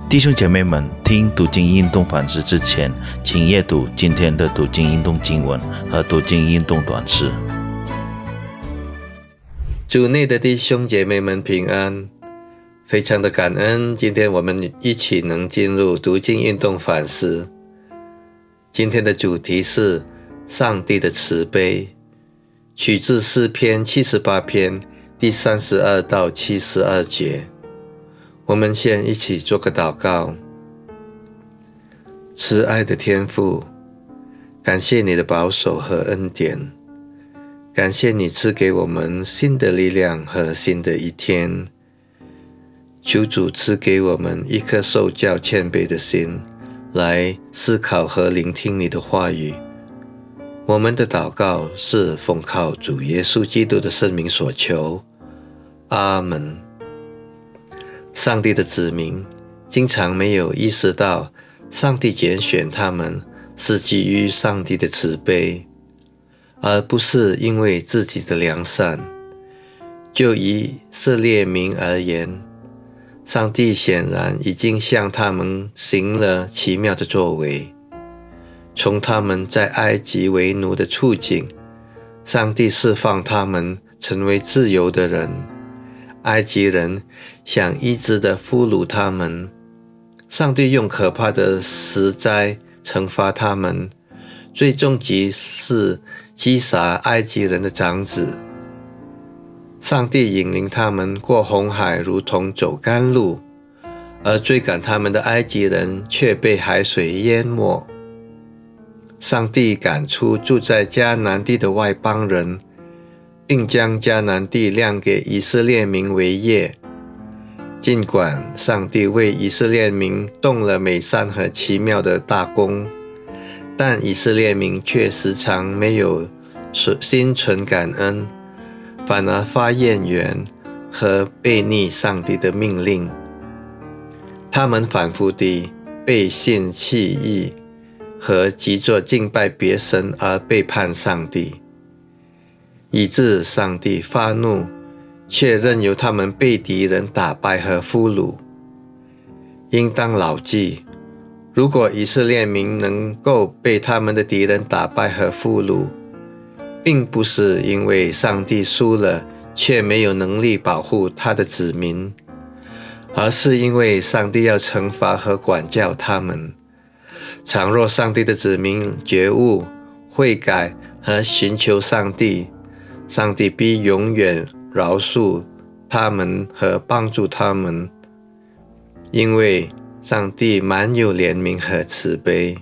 弟兄姐妹们，听读经运动反思之前，请阅读今天的读经运动经文和读经运动短诗。 主内的弟兄姐妹们平安，非常的感恩，今天我们一起能进入读经运动反思。今天的主题是上帝的慈悲，取自诗篇78篇第32到72节。我们先一起做个祷告。慈爱的天父，感谢你的保守和恩典，感谢你赐给我们新的力量和新的一天。求主赐给我们一颗受教谦卑的心，来思考和聆听你的话语。我们的祷告是奉靠主耶稣基督的圣名所求，阿们。上帝的子民经常没有意识到，上帝拣选他们是基于上帝的慈悲，而不是因为自己的良善。就以色列民而言，上帝显然已经向他们行了奇妙的作为。从他们在埃及为奴的处境，上帝释放他们成为自由的人。埃及人想一直地俘虏他们，上帝用可怕的十灾惩罚他们，最终极是击杀埃及人的长子。上帝引领他们过红海，如同走甘露，而追赶他们的埃及人却被海水淹没。上帝赶出住在迦南地的外邦人，并将迦南地亮给以色列民为业。尽管上帝为以色列民动了美善和奇妙的大功，但以色列民却时常没有心存感恩，反而发怨言和悖逆上帝的命令。他们反复地背信弃义和急着敬拜别神而背叛上帝，以致上帝发怒，却任由他们被敌人打败和俘虏。应当牢记，如果以色列民能够被他们的敌人打败和俘虏，并不是因为上帝输了却没有能力保护他的子民，而是因为上帝要惩罚和管教他们。倘若上帝的子民觉悟、悔改和寻求上帝，上帝必永远饶恕他们和帮助他们，因为上帝满有怜悯和慈悲。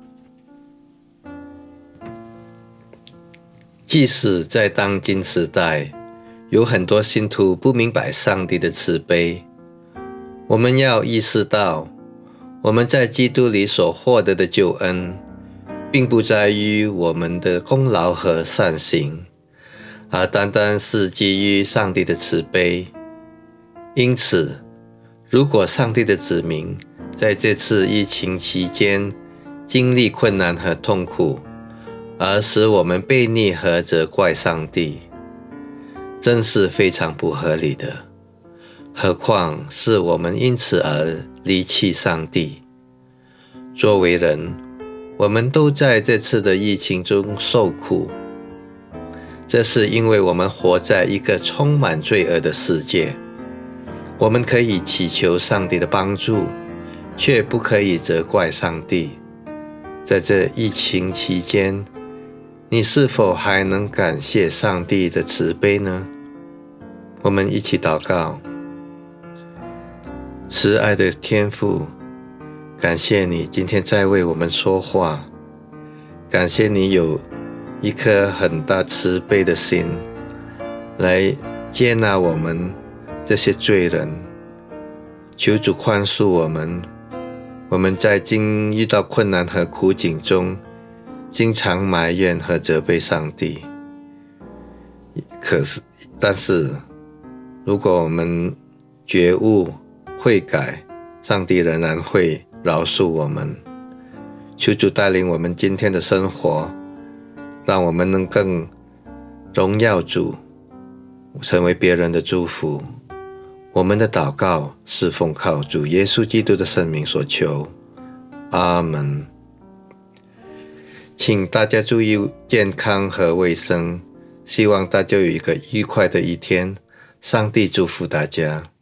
即使在当今时代，有很多信徒不明白上帝的慈悲，我们要意识到，我们在基督里所获得的救恩，并不在于我们的功劳和善行，而单单是基于上帝的慈悲。因此，如果上帝的子民在这次疫情期间经历困难和痛苦，而使我们悖逆和责怪上帝，真是非常不合理的。何况是我们因此而离弃上帝。作为人，我们都在这次的疫情中受苦，这是因为我们活在一个充满罪恶的世界。我们可以祈求上帝的帮助，却不可以责怪上帝。在这疫情期间，你是否还能感谢上帝的慈悲呢？我们一起祷告。慈爱的天父，感谢你今天在为我们说话，感谢你有一颗很大慈悲的心，来接纳我们这些罪人。求主宽恕我们，我们在遇到困难和苦境中，经常埋怨和责备上帝。但是，如果我们觉悟、悔改，上帝仍然会饶恕我们。求主带领我们今天的生活，让我们能更荣耀主，成为别人的祝福。 我们的祷告是奉靠主耶稣基督的圣名所求，阿们。请大家注意健康和卫生，希望大家有一个愉快的一天，上帝祝福大家。